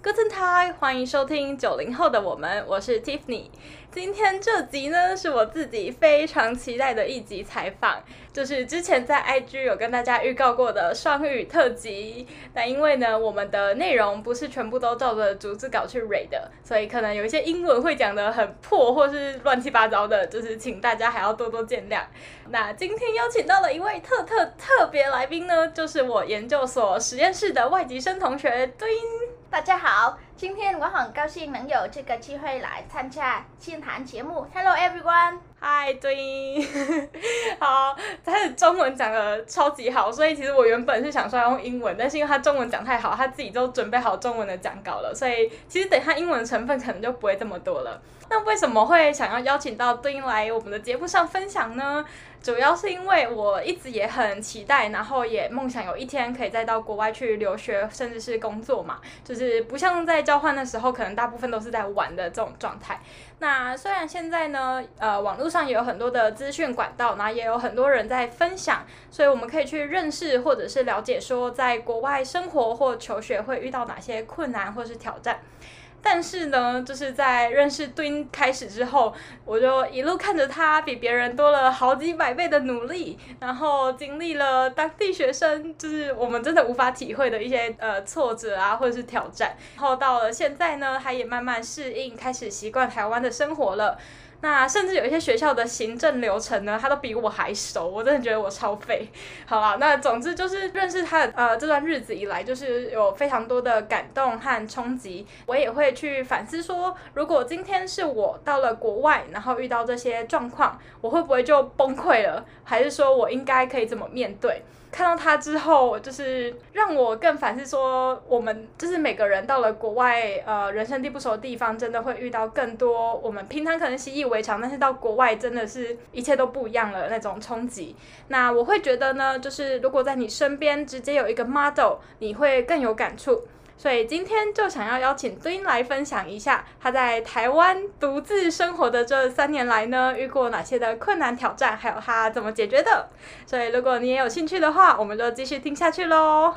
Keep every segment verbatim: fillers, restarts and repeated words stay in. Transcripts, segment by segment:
Guten Tag，歡迎收聽九零後的我們，我是 Tiffany。今天這集呢，是我自己非常期待的一集採訪，就是之前在 I G 有跟大家預告過的雙語特輯。那因為呢，我們的內容不是全部都照着逐字稿去 read 的，所以可能有一些英文會講得很破，或是亂七八糟的，就是請大家還要多多見諒。那今天邀請到了一位特特特別來賓呢，就是我研究所實驗室的外籍生同學敦。 大家好，今天我很高興能有這個機會來參加清談節目。Hello everyone， 嗨敦，好，他的中文講得超級好，所以其實我原本是想說要用英文，但是因為他中文講太好，他自己都準備好中文的講稿了，所以其實等他英文的成分可能就不會這麼多了。那為什麼會想要邀請到敦來我們的節目上分享呢？主要是因為我一直也很期待，然後也夢想有一天可以再到國外去留學，甚至是工作嘛。就是不像在交換的時候，可能大部分都是在玩的這種狀態。那雖然現在呢，呃，網絡上也有很多的資訊管道，然後也有很多人在分享，所以我們可以去認識或者是了解說，在國外生活或求學會遇到哪些困難或是挑戰。但是呢，就是在認識敦開始之後，我就一路看着他比別人多了好幾百倍的努力，然後經歷了當地學生就是我們真的無法體會的一些呃挫折啊，或者是挑戰。然後到了現在呢，他也慢慢適應，開始習慣台灣的生活了。那甚至有一些學校的行政流程呢，他都比我還熟，我真的覺得我超廢。好啦，那總之就是認識他的呃這段日子以來，就是有非常多的感動和衝擊。我也會去反思說，如果今天是我到了國外，然後遇到這些狀況，我會不會就崩潰了？還是說我應該可以怎麼面對？看到他之後，就是讓我更反思說，我們就是每個人到了國外，呃，人生地不熟的地方，真的會遇到更多我們平常可能習以為常，但是到國外真的是一切都不一樣了那種衝擊。那我會覺得呢，就是如果在你身邊直接有一個 model， 你會更有感觸。所以今天就想要邀請敦來分享一下他在台灣獨自生活的這三年來呢，遇過哪些的困難挑戰，還有他怎麼解決的。所以如果你也有興趣的話，我們就繼續聽下去咯。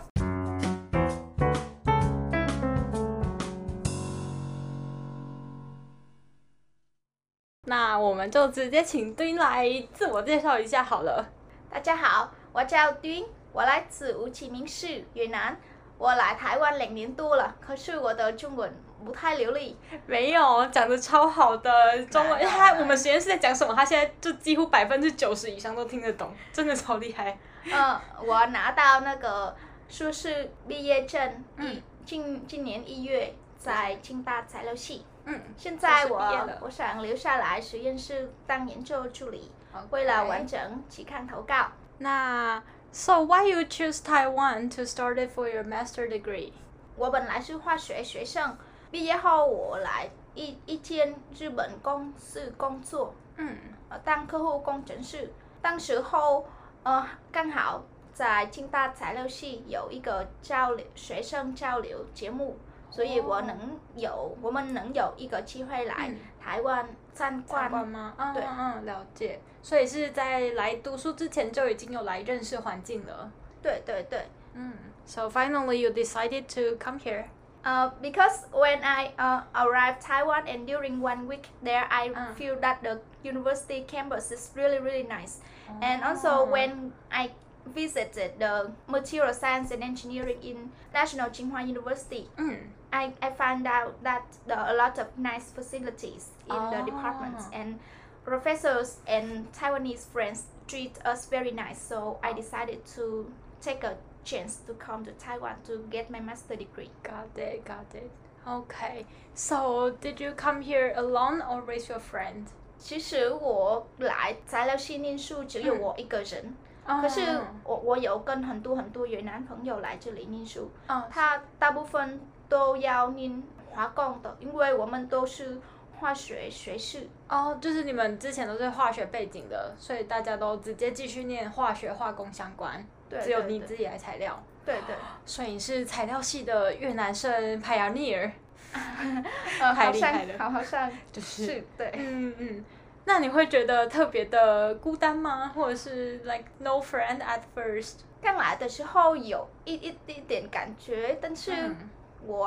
那我們就直接請敦來自我介紹一下好了。 大家好，我叫敦，我來自胡志明市，越南。我來台灣兩年多了，可是我的中文不太流利。 沒有，講得超好的中文。他我們實驗室在講什麼，他現在就幾乎百分之九十以上都聽得懂，真的超厲害。 嗯，我拿到那個碩士畢業證， 嗯， 今今年一月在清大材料系。 嗯， 現在我我想留下來實驗室當研究助理， okay. 為了完成期刊投稿。 那So why you choose Taiwan to start it for your master degree? 我本來是化學學生，畢業後我來一一間日本公司工作，嗯，當客戶工程師。當時候，呃，剛好在清大材料系有一個交流學生交流節目，所以我能有、oh. 我們能有一個機會來台灣參觀。參觀嗎？嗯、對， 嗯，了解。所以是在來讀書之前就已經有來認識環境了。 對對對。嗯。 So finally you decided to come here. Uh, because when I uh, arrived Taiwan and during one week there, I uh. feel that the university campus is really really nice. Oh. And also when I visited the material science and engineering in National Tsinghua University, mm. I I found out that there are a lot of nice facilities in oh. the departments and professors and Taiwanese friends treat us very nice, so I decided to take a chance to come to Taiwan to get my master degree. Got it, got it. Okay, so did you come here alone or with your friend? 其實我來材料系念書只有我一個人，嗯、可是我我有跟很多很多越南朋友來這裡念書，嗯、他大部分都要念化工的，因為我們都是化學學士哦，就是你們之前都是化學背景的，所以大家都直接繼續念化學化工相關。對，只有你自己來材料。 對對。 所以你是材料系的越南生 pioneer， 太厲害了。好，好像就是是對。 嗯嗯。那你會覺得特別的孤單嗎？或者是 like no friend at first？ 剛來的時候有一一一點感覺，但是我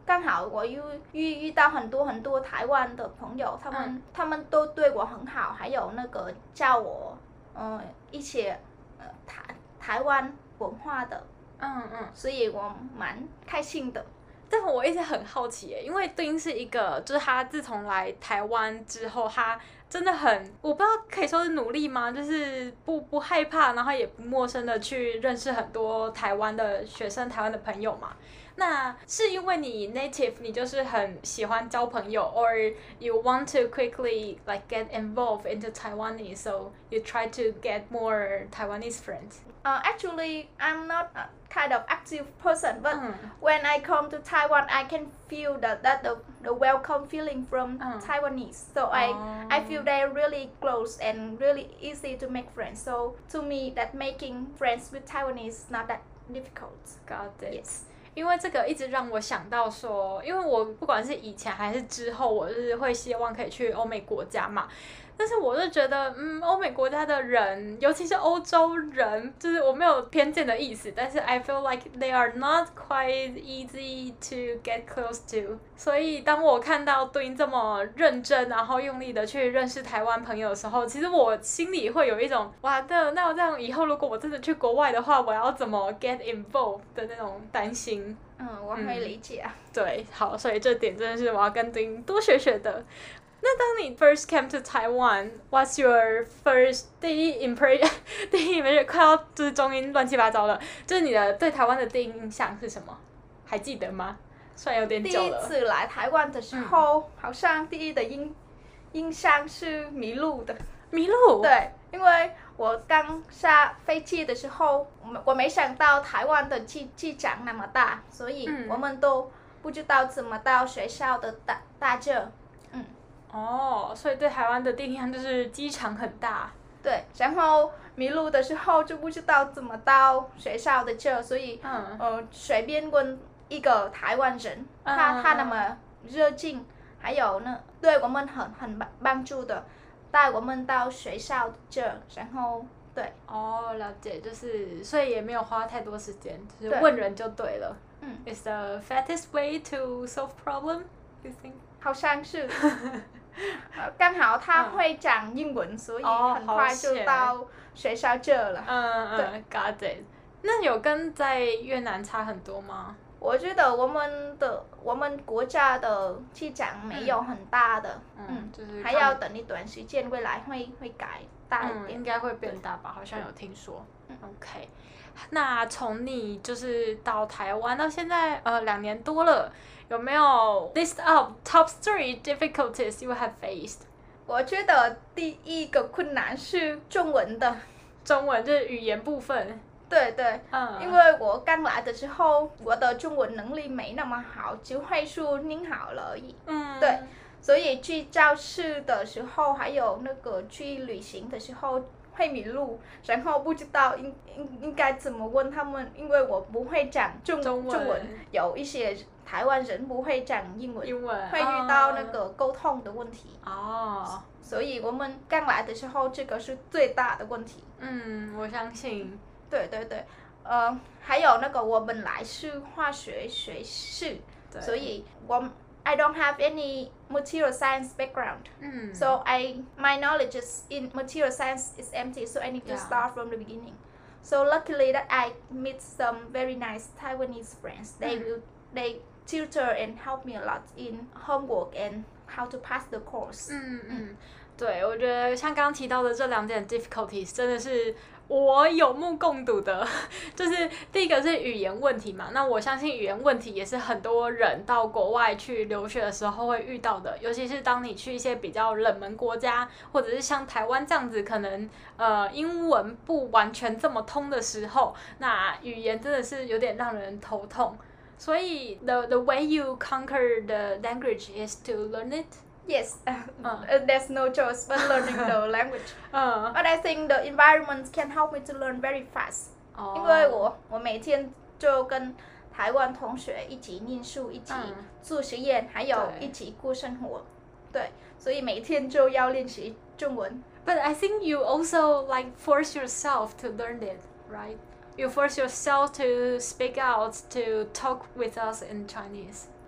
剛好我又遇遇到很多很多台灣的朋友，他們、嗯、他們都對我很好，還有那個教我呃一些呃台台灣文化的， 嗯嗯， 所以我蠻開心的。 但我一直很好奇耶，因為丁是一個，就是他自從來台灣之後，他真的很，我不知道可以說是努力嗎？就是不不害怕，然後也不陌生的去認識很多台灣的學生、台灣的朋友嘛。那是因為你 native， 你就是很喜歡交朋友 ，or you want to quickly like get involved into Taiwanese, so you try to get more Taiwanese friends. Uh, actually, I'm not a kind of active person, but mm. when I come to Taiwan, I can feel that that the, the welcome feeling from mm. Taiwanese. So oh. I I feel they're really close and really easy to make friends. So to me, that making friends with Taiwanese is not that difficult. Got it. Yes. 因為這個一直讓我想到說，因為我不管是以前還是之後，我就是會希望可以去歐美國家嘛。但是我就覺得，嗯，歐美國家的人，尤其是歐洲人，就是我沒有偏見的意思，但是 I feel like they are not quite easy to get close to。所以當我看到Twin這麼認真，然後用力的去認識台灣朋友的時候，其實我心裡會有一種，哇的，那我這樣以後如果我真的去國外的話，我要怎麼 get involved 的那種擔心。 嗯，我可以理解啊。 嗯、對，好，所以這點真的是我要跟Twin多學學的。那當你 first came to Taiwan, what's your first 第一 impression？ 第一 impression 快要就是中英亂七八糟了，就是你的對台灣的第一印象是什麼？還記得嗎？雖然有點久了。 第一次來台灣的時候，嗯、好像第一的印印象是迷路的。 迷路？ 對，因為我剛下飛機的時候，我我沒想到台灣的機機場那麼大，所以我們都不知道怎麼到學校的大大這。 哦，所以對台灣的第一印象就是機場很大。 對，然後迷路的時候就不知道怎麼到學校的這，所以嗯呃隨便問一個台灣人，嗯、他他那麼熱情，還有呢對我們很很幫助的，帶我們到學校的這，然後對。哦， 了解，就是所以也沒有花太多時間，就是問人就對了。嗯 Is the fastest way to solve problem, you think? 好像是。剛好他會講英文，嗯、所以很快就到學校這了。 嗯嗯，got it。那有跟在越南差很多嗎？ 我覺得我們的我們國家的機場沒有很大的，嗯，嗯就是還要等一段時間，未來會會改大一點， 嗯、應該會變大吧？好像有聽說。嗯、OK，那從你就是到台灣到現在，呃，兩年多了。有沒有 list up top three difficulties you have faced？ 我覺得第一個困難是中文的， 中文就是語言部分。 對對，嗯，因為我剛來的時候，我的中文能力沒那麼好，只會說您好而已。嗯，對，所以去教室的時候，還有那個去旅行的時候會迷路，然後不知道應應應該怎麼問他們，因為我不會講中中文，中文有一些台灣人不會講英文，英文會遇到那個溝通的問題。哦，所以我們剛來的時候，這個是最大的問題。 嗯，我相信。 對對對，呃，還有那個我本來是化學學士，所以我 I don't have any material science background. Mm. So I my knowledge is in material science is empty, so I need to yeah. start from the beginning. So luckily that I meet some very nice Taiwanese friends. They mm. will they tutor and help me a lot in homework and how to pass the course. 嗯嗯，對，我覺得像剛剛提到的這兩點 difficulties 真的是我有目共睹的，就是第一個是語言問題嘛，那我相信語言問題也是很多人到國外去留學的時候會遇到的，尤其是當你去一些比較冷門國家，或者是像台灣這樣子，可能呃英文不完全這麼通的時候，那語言真的是有點讓人頭痛。所以 the the way you conquer the language is to learn it. Yes, uh, uh. there's no choice but learning the language. Uh. But I think the environment can help me to learn very fast. Oh. 因為我我每天就跟台灣同學一起念書，一起做實驗，還有一起過生活。對，所以每天就要練習中文。 But I think you also like force yourself to learn it, right? You force yourself to speak out, to talk with us in Chinese.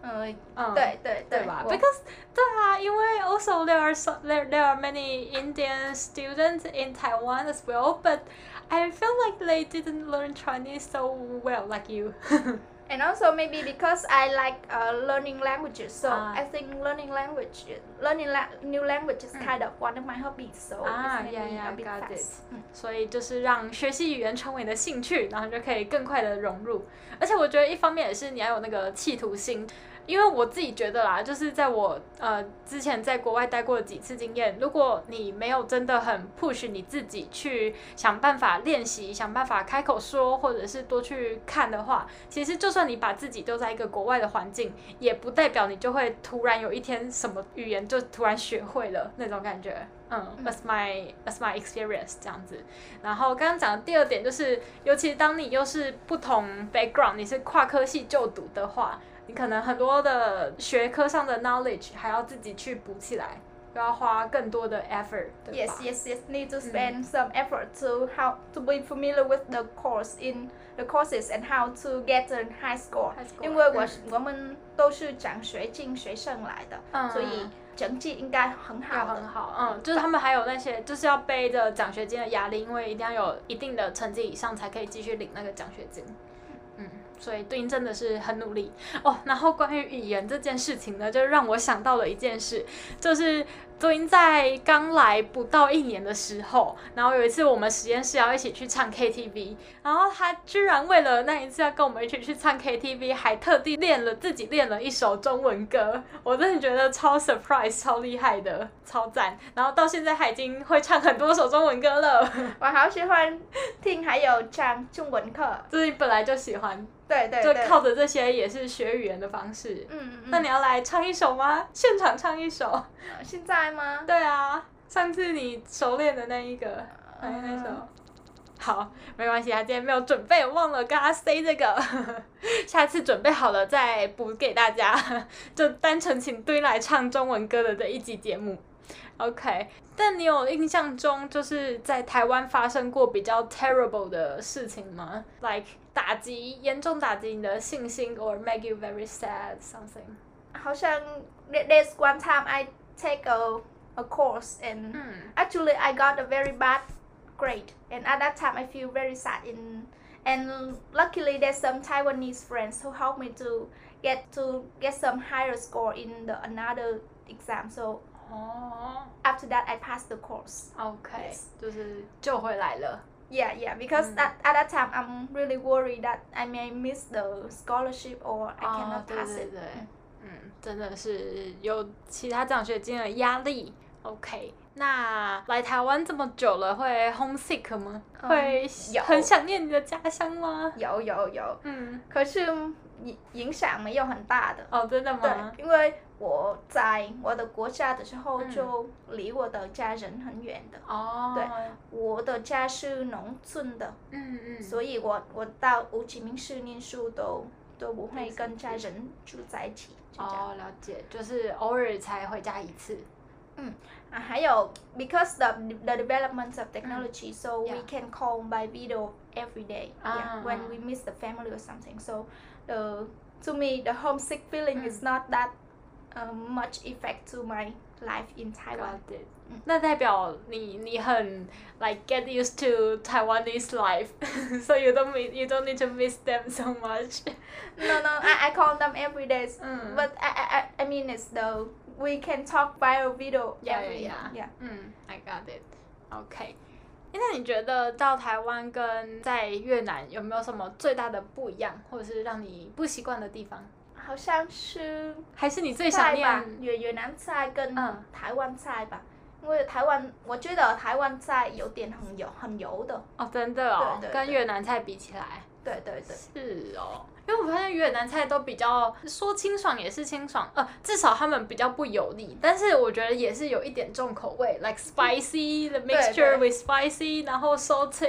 嗯嗯，对對對吧 ？Because 對啊，因為 also there are so, there there are many Indian students in Taiwan as well, but I feel like they didn't learn Chinese so well like you. And also maybe because I like uh, learning languages, so ah. I think learning language, learning la new language is kind of one of my hobbies. So ah, it's yeah, maybe yeah, a bit got fast. it. 所以就是讓學習語言成為你的興趣，然後就可以更快的融入。而且我覺得一方面也是你要有那個企圖心。因為我自己覺得啦，就是在我呃之前在國外待過的幾次經驗，如果你沒有真的很 push 你自己去想辦法練習，想辦法開口說，或者是多去看的話，其實就算你把自己丟在一個國外的環境，也不代表你就會突然有一天什麼語言就突然學會了那種感覺。嗯 ，that's my that's my experience 這樣子。然後剛剛講的第二點就是，尤其當你又是不同 background， 你是跨科系就讀的話。你可能很多的學科上的 knowledge 還要自己去補起來，又要花更多的 effort， 對吧？ Yes, yes, yes. Need to spend、嗯、some effort to how to be familiar with the course in the courses and how to get a high score. High score 因為我、 嗯、 我們都是獎學金學生來的，嗯、所以成績應該很好的。 很好，嗯，就是他們還有那些就是要背着獎學金的壓力，因為一定要有一定的成績以上才可以繼續領那個獎學金。嗯。所以Twin真的是很努力哦。然後關於語言這件事情呢，就讓我想到了一件事，就是Twin在剛來不到一年的時候，然後有一次我們實驗室要一起去唱 K T V， 然後他居然為了那一次要跟我們一起去唱 K T V， 還特地練了自己練了一首中文歌，我真的覺得超 surprise， 超厲害的，超讚。然後到現在他已經會唱很多首中文歌了。 我好喜歡聽，還有唱中文課， 就是你本來就喜歡。 對對對， 就靠着這些也是學語言的方式。嗯嗯。那你要來唱一首嗎？現場唱一首。呃、 現在嗎？ 對啊，上次你熟練的那一個，哎、呃，那首。好，沒關係，他今天沒有準備，我忘了跟他 say 這個，下次準備好了再補給大家。就單純請Twin來唱中文歌的這一集節目。OK， 但你有印象中就是在台灣發生過比較 terrible 的事情嗎 ？Like 打擊嚴重打擊你的信心 ，or make you very sad something？ 好像 there's one time I take a a course and、嗯、actually I got a very bad grade and at that time I feel very sad in and luckily there's some Taiwanese friends who helped me to get to get some higher score in the another exam so. Oh. After that, I passed the course. Okay, 就是救回來了。 Yeah, yeah. Because at at that time, I'm really worried that I may miss the scholarship or I cannot pass it. 对对对，嗯，真的是有其他獎學金的壓力。OK， 那來台灣這麼久了，會 homesick 嗎？會很想念你的家鄉嗎？ 有有有。嗯，可是影影響沒有很大的。 哦，真的嗎？ 對，因為我在我的國家的時候就離我的家人很遠的。哦、嗯。對，我的家是農村的。嗯嗯。所以我我到胡志明市念書都都不會跟家人住在一起。 哦，了解，就是偶爾才回家一次。 嗯，啊，還有 because the the development of technology,、嗯、so we yeah. can call by video every day. Yeah, when we miss the family or something. So, the to me the homesick feeling、嗯、is not that、um, much effect to my life in Taiwan. Got it. 那代表你你很 like get used to Taiwanese life, so you don't you don't need to miss them so much. No, no, I I call them every day,嗯、but I I I mean it's the we can talk via video every yeah, yeah. yeah. 嗯 I got it. OK. 那你覺得到台灣跟在越南有沒有什麼最大的不一樣，或者是讓你不習慣的地方？ 好像是還是你最想念越越南菜跟台灣菜吧。因為台灣，我覺得台灣菜有點很油，很油的。 哦，真的哦， 對對對， 跟越南菜比起來。 對對對。 是哦，因為我發現越南菜都比較說清爽也是清爽，呃，至少他們比較不油膩，但是我覺得也是有一點重口味 ，like spicy，the mixture with spicy，然後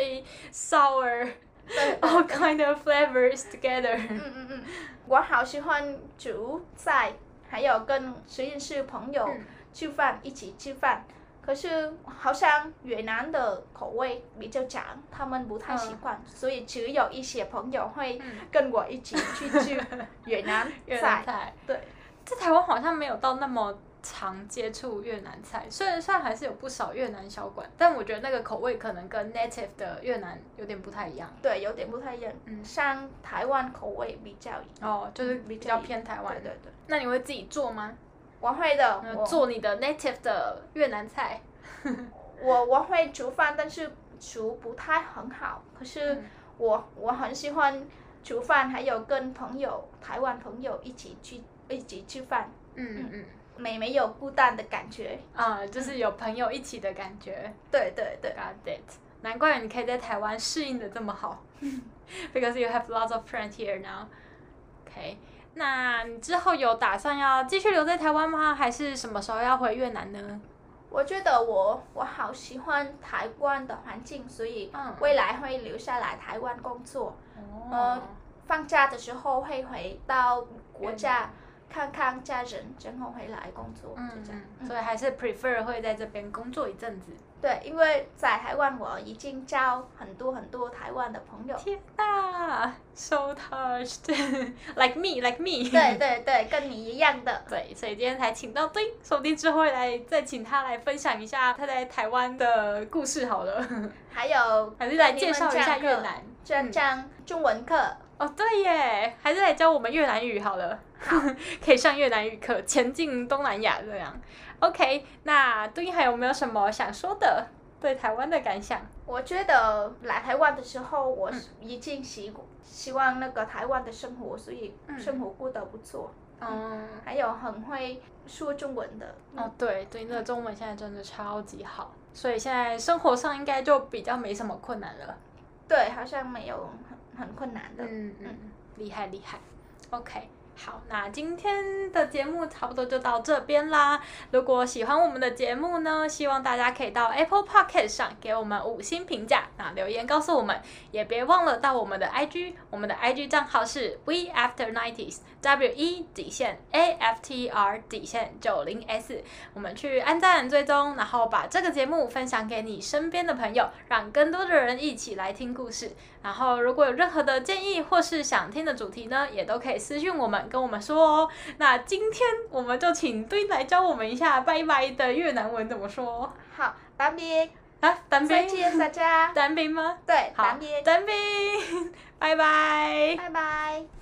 salty、sour，all kind of flavors together。 嗯嗯嗯，我好喜歡煮菜，還有跟實驗室朋友吃飯，一起吃飯。 可是好像越南的口味比較強，他們不太習慣，嗯、所以只有一些朋友會跟我一起去吃越南菜。 越南菜對，在台灣好像沒有到那麼常接觸越南菜，雖然雖然還是有不少越南小館，但我覺得那個口味可能跟 native 的越南有點不太一樣。 對，有點不太一樣。嗯，像台灣口味比較哦，就是比較偏台灣。 對對對。 那你會自己做嗎？ 我會的， 我做你的 native 的越南菜。 我我會煮飯，但是煮不太很好。可是我、嗯、我很喜歡煮飯，還有跟朋友台灣朋友一起去一起吃飯。嗯嗯嗯，沒沒有孤單的感覺啊、嗯，就是有朋友一起的感覺。 對對對 ，Got it。難怪你可以在台灣適應的這麼好，because you have lots of friends here now. OK。那你之後有打算要繼續留在台灣嗎？還是什麼時候要回越南呢？ 我覺得我我好喜歡台灣的環境，所以未來會留下來台灣工作。嗯、呃，放假的時候會回到國家看看家人，然後回來工作。嗯，就這樣。 嗯、所以還是 prefer 會在這邊工作一陣子。 對，因為在台灣我已經交很多很多台灣的朋友。 天哪 ，so touched，like me，like me。 對對對，跟你一樣的。 對，所以今天才請到對，說不定之後會來再請他來分享一下他在台灣的故事好了。 還有， 還是來介紹一下越南， 這講中文課。 哦，對耶，還是來教我們越南語好了。好，可以上越南語課，前進東南亞這樣。OK， 那對應還有沒有什麼想說的？對台灣的感想？ 我覺得來台灣的時候，我已經習希望那個台灣的生活，所以生活過得不錯。嗯，嗯還有很會說中文的。 哦，對對，那個中文現在真的超級好，所以現在生活上應該就比較沒什麼困難了。 對，好像沒有很很困難的。 嗯嗯，厲害厲害。OK。好，那今天的節目差不多就到這邊啦。如果喜歡我們的節目呢，希望大家可以到 Apple Podcast 上給我們五星評價，那留言告訴我們，也別忘了到我們的 I G， 我們的 I G 賬號是 We After nineties W E 底線 A F T R 底線九零 S， 我們去按讚追蹤，然後把這個節目分享給你身邊的朋友，讓更多的人一起來聽故事。然後如果有任何的建議或是想聽的主題呢，也都可以私訊我們跟我們說哦。那今天我們就請敦來教我們一下拜拜的越南文怎麼說。 好，tạm biệt 啊，tạm biệt再見大家。 tạm biệt嗎？ 對， 好， tạm biệt tạm biệt拜拜， 拜拜。